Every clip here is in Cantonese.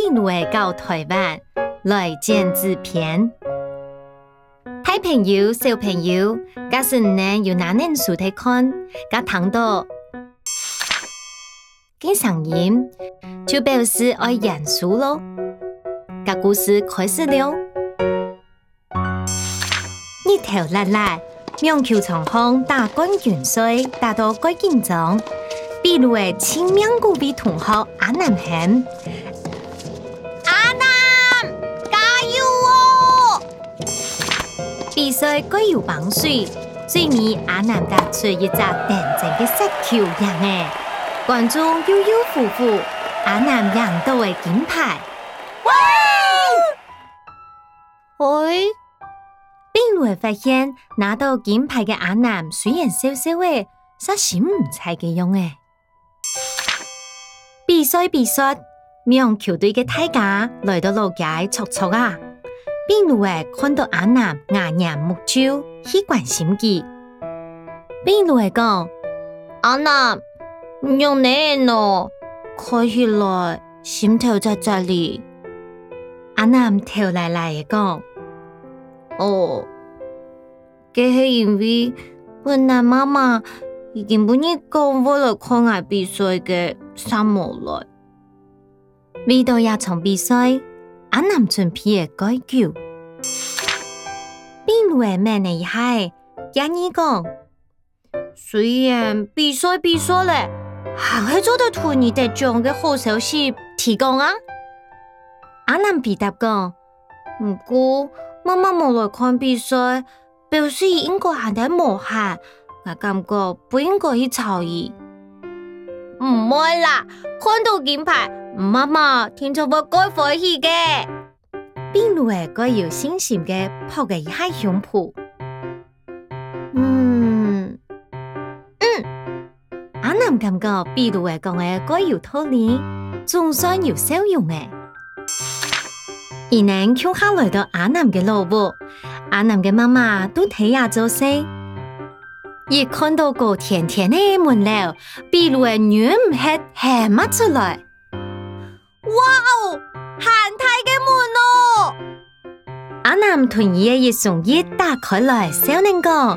秘魯的到台灣來剪紙片。大朋友、小朋友，假使你有哪本書睇看，甲聽到嘅聲音，就表示愛嚴肅咯。甲故事開始了。日頭辣辣，苗球場上打冠軍賽，打到幾緊張。秘魯的青面古比同學阿南喊：阿南，加油哦！比賽該有幫水，最尾阿南打出一隻電正的石球贏誒，觀眾悠悠呼呼，阿南贏到的金牌。喂！秘魯發現拿到金牌的阿南雖然小小的，實心唔菜嘅樣誒。比賽，苗球隊的大家來到路街戳戳啊！秘魯看到阿南牙牙目睭，去關心佢。秘魯講：阿南，唔用你咯，看起來心頭在這裡。阿南頭來來的講：哦，這是因為本來媽媽已經不願講我來看我比賽嘅啥無來。為到一場比賽，阿南準備嘅改球。秘魯嘅咩呢？係建議講，雖然比賽咧，還係做得同你得獎嘅好消息提供啊。阿南回答講，不過媽媽冇來看比賽，表示應該係在無限。我感覺不應該去吵伊。唔會啦，看到金牌，媽媽聽咗我該歡喜嘅。秘魯該有信心嘅拍個一下胸脯。阿南感覺秘魯講嘅該有道理，總算有效用嘅。伊能跳下來到阿南嘅路步，阿南嘅媽媽都睇下做勢。一看到個甜甜的門樓，秘魯的女唔係喊乜出來？哇哦，韓泰嘅門哦！阿南同伊嘅一雙一打開來，少年講：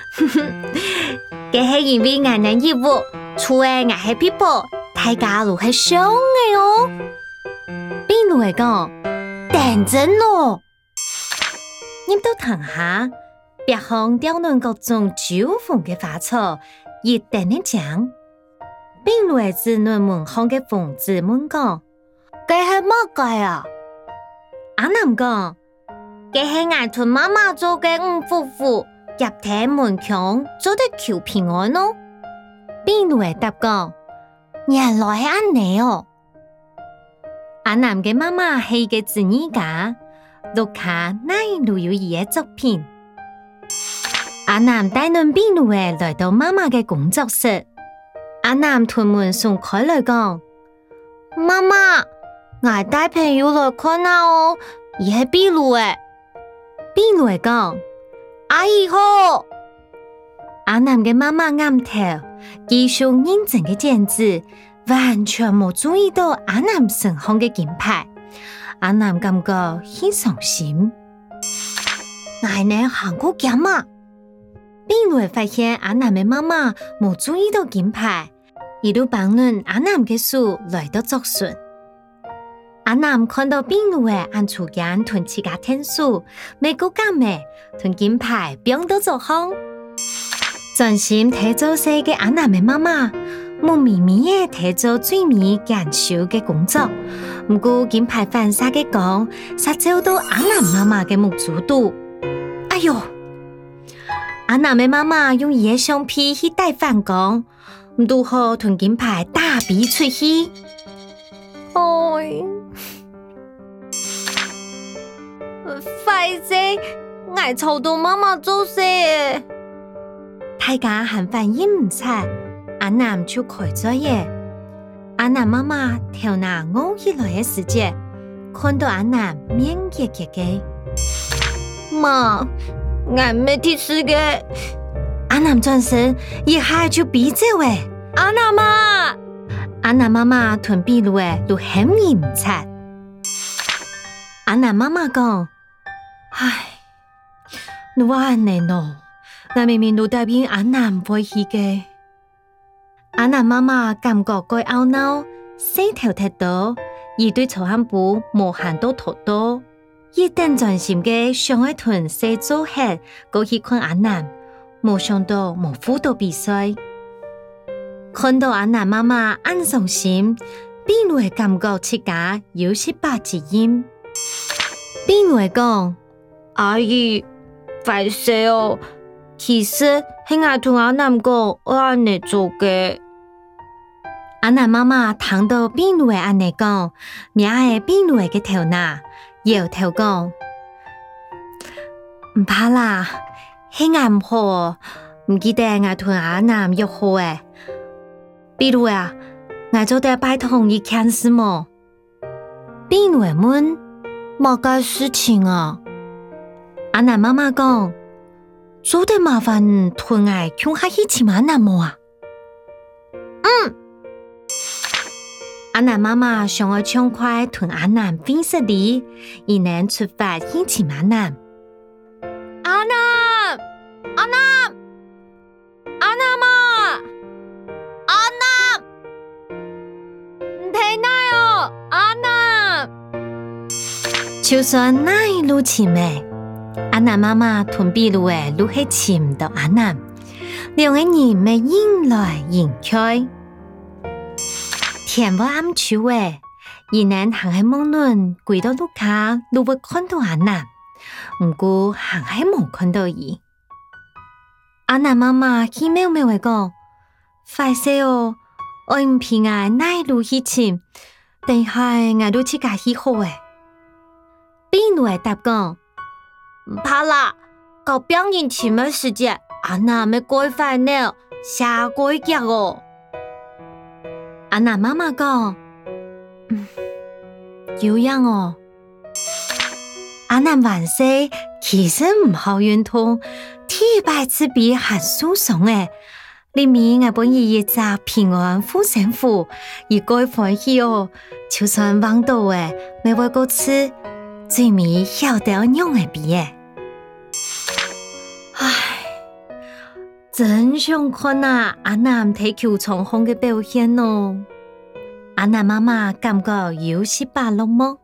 這是因為我能業務，除了我係皮包，大家都係相嘅哦。秘魯嘅講：認真咯，入到堂下。別行雕亂各種酒紅的花草，一定的講。秘魯的子女們看嘅瘋子們講：這是乜鬼啊？阿南講：這是我同媽媽做嘅五夫婦入廳門牆做的求平安咯。秘魯的答講：原來係安尼哦。阿南嘅媽媽係個紙藝家，錄下哪裡有伊嘅作品。阿南帶領秘魯嘅來到媽媽嘅工作室，阿南屯門送開來講：媽媽，我帶朋友來看下哦，伊係秘魯嘅。秘魯嘅講：阿姨好。阿南嘅媽媽啱頭，繼續認真嘅剪紙，完全冇注意到阿南身上嘅金牌。阿南感覺很傷心。我呢韓國講嘛？秘魯發現阿南的媽媽冇注意到金牌，一路幫論阿南的書來到作順。阿南看到秘魯的按出間同自家聽書，美國感嘅同金牌變到作行。專心睇做事嘅阿南的媽媽，冇咪咪嘅睇做最尾研究嘅工作。唔過金牌反殺嘅講，殺走到阿南媽媽嘅目珠度。哎喲！阿南的媽媽用伊的橡皮去帶反光，如何同金牌打比出去？哎，快些，我吵到媽媽做事。大家還反應唔切，阿南就開咗嘢。阿南媽媽頭拿熬起來的時節，看到阿南面結結嘅，媽。我沒提示嘅，阿南轉身一下就逼走誒。阿南媽媽同秘魯誒都很認真。 阿南媽媽講：唉，你話安尼喏，我明明都答應阿南不會去嘅。阿南媽媽感覺該懊惱，細頭踢到，而對臭漢布無限都拖到，一定專心嘅上一屯細做客，過去看阿南，沒想到無輔導比賽。看到阿南媽媽安傷心，邊會感覺自家有失敗之音。邊會講：阿姨，快些哦！其實係我同阿南講，我安尼做嘅。阿南媽媽聽到邊會安尼講，名係邊會嘅頭拿，搖頭講：唔怕啦，係我唔好，唔記得我同阿南約好誒。比如啊，我做得拜託一件事麼？邊會問：乜個事情啊？阿南媽媽講：做得麻煩同我共下一起阿南麼啊？阿南媽媽想要暢快同阿南分析哩，而能出發一起阿南。阿南，阿南，阿南媽，阿南，唔睇奈哦，阿南。就算那一路前面，阿南媽媽同比路誒路係尋到阿南，兩個人咪迎來迎去。天不暗處誒，而能行喺夢輪，歸到路卡，都會看到阿南。唔過行喺冇看到伊。阿南媽媽氣喵喵會講：快些哦，我唔偏愛奈路去尋，但係我都自家去好誒。邊路會答講：唔怕啦，搞別人尋嘅時節，阿南咪改快呢，下改腳哦。阿南媽媽講：有樣哦。阿南萬歲，其實唔好運動，體百次比還舒爽誒。裡面我本意一隻平安護身符，而該歡喜哦。就算忘到誒，沒為過吃，最尾曉得用誒比誒。唉，真想看啊！阿南踢球場上嘅表現哦。阿南媽媽感覺有失敗落寞。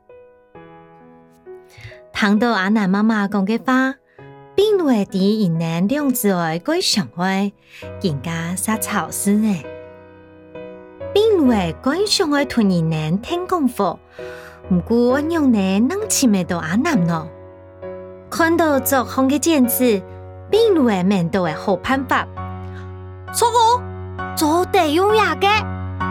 聽到阿南媽媽講嘅話，邊會啲人能兩字愛歸上愛，更加撒草絲呢？邊會歸上愛同人能聽功夫，唔過我用呢能前面到阿南咯。看到作紅嘅剪子，邊會面到嘅好辦法，錯個做地用牙嘅。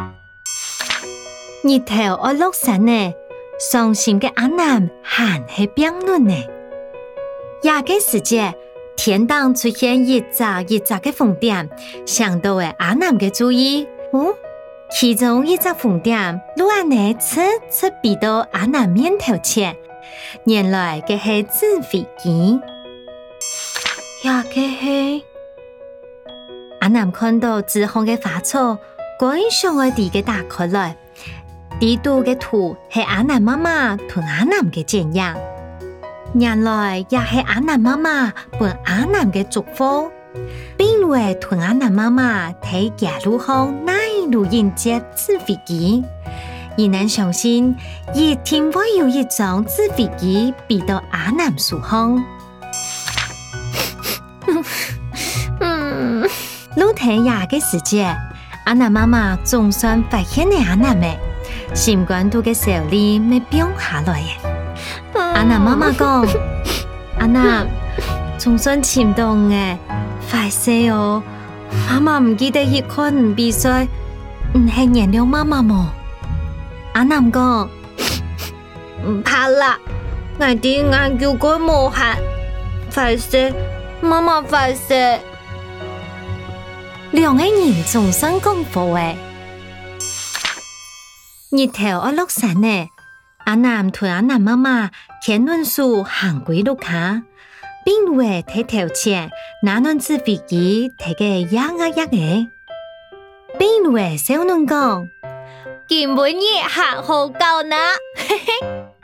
日頭我落山呢，傷心嘅阿南還係病論呢。廿個時節，天當出現一扎嘅風點，想到嘅阿南嘅注意，其中一隻風點，路安呢側避到阿南面頭前，原來嘅係紙飛機。廿個係阿南看到紫紅嘅花草，趕上我哋嘅打開來。地圖嘅圖係阿南媽媽同阿南嘅剪樣，原來也係阿南媽媽幫阿南嘅祝福，並會同阿南媽媽睇假路上哪一路迎接紙飛機，而能相信一定會有一張紙飛機飛到阿南樹上。路睇廿個時節，阿南媽媽總算發現了阿南嘅。心肝肚嘅手裡咪變下來嘅。阿南媽媽講：阿南，總算潛到嘅，快些哦！媽媽唔記得去看唔比賽，唔係原諒媽媽麼？阿南講：唔怕啦，我啲眼叫佢無限，快些，媽媽快些。兩個人總算講服誒。日頭我落山呢，阿南同阿南媽媽牽輪樹行歸路卡，並會睇頭前那輪紙飛機睇個一嘅，並會小輪講，根本也行好夠呢，嘿嘿。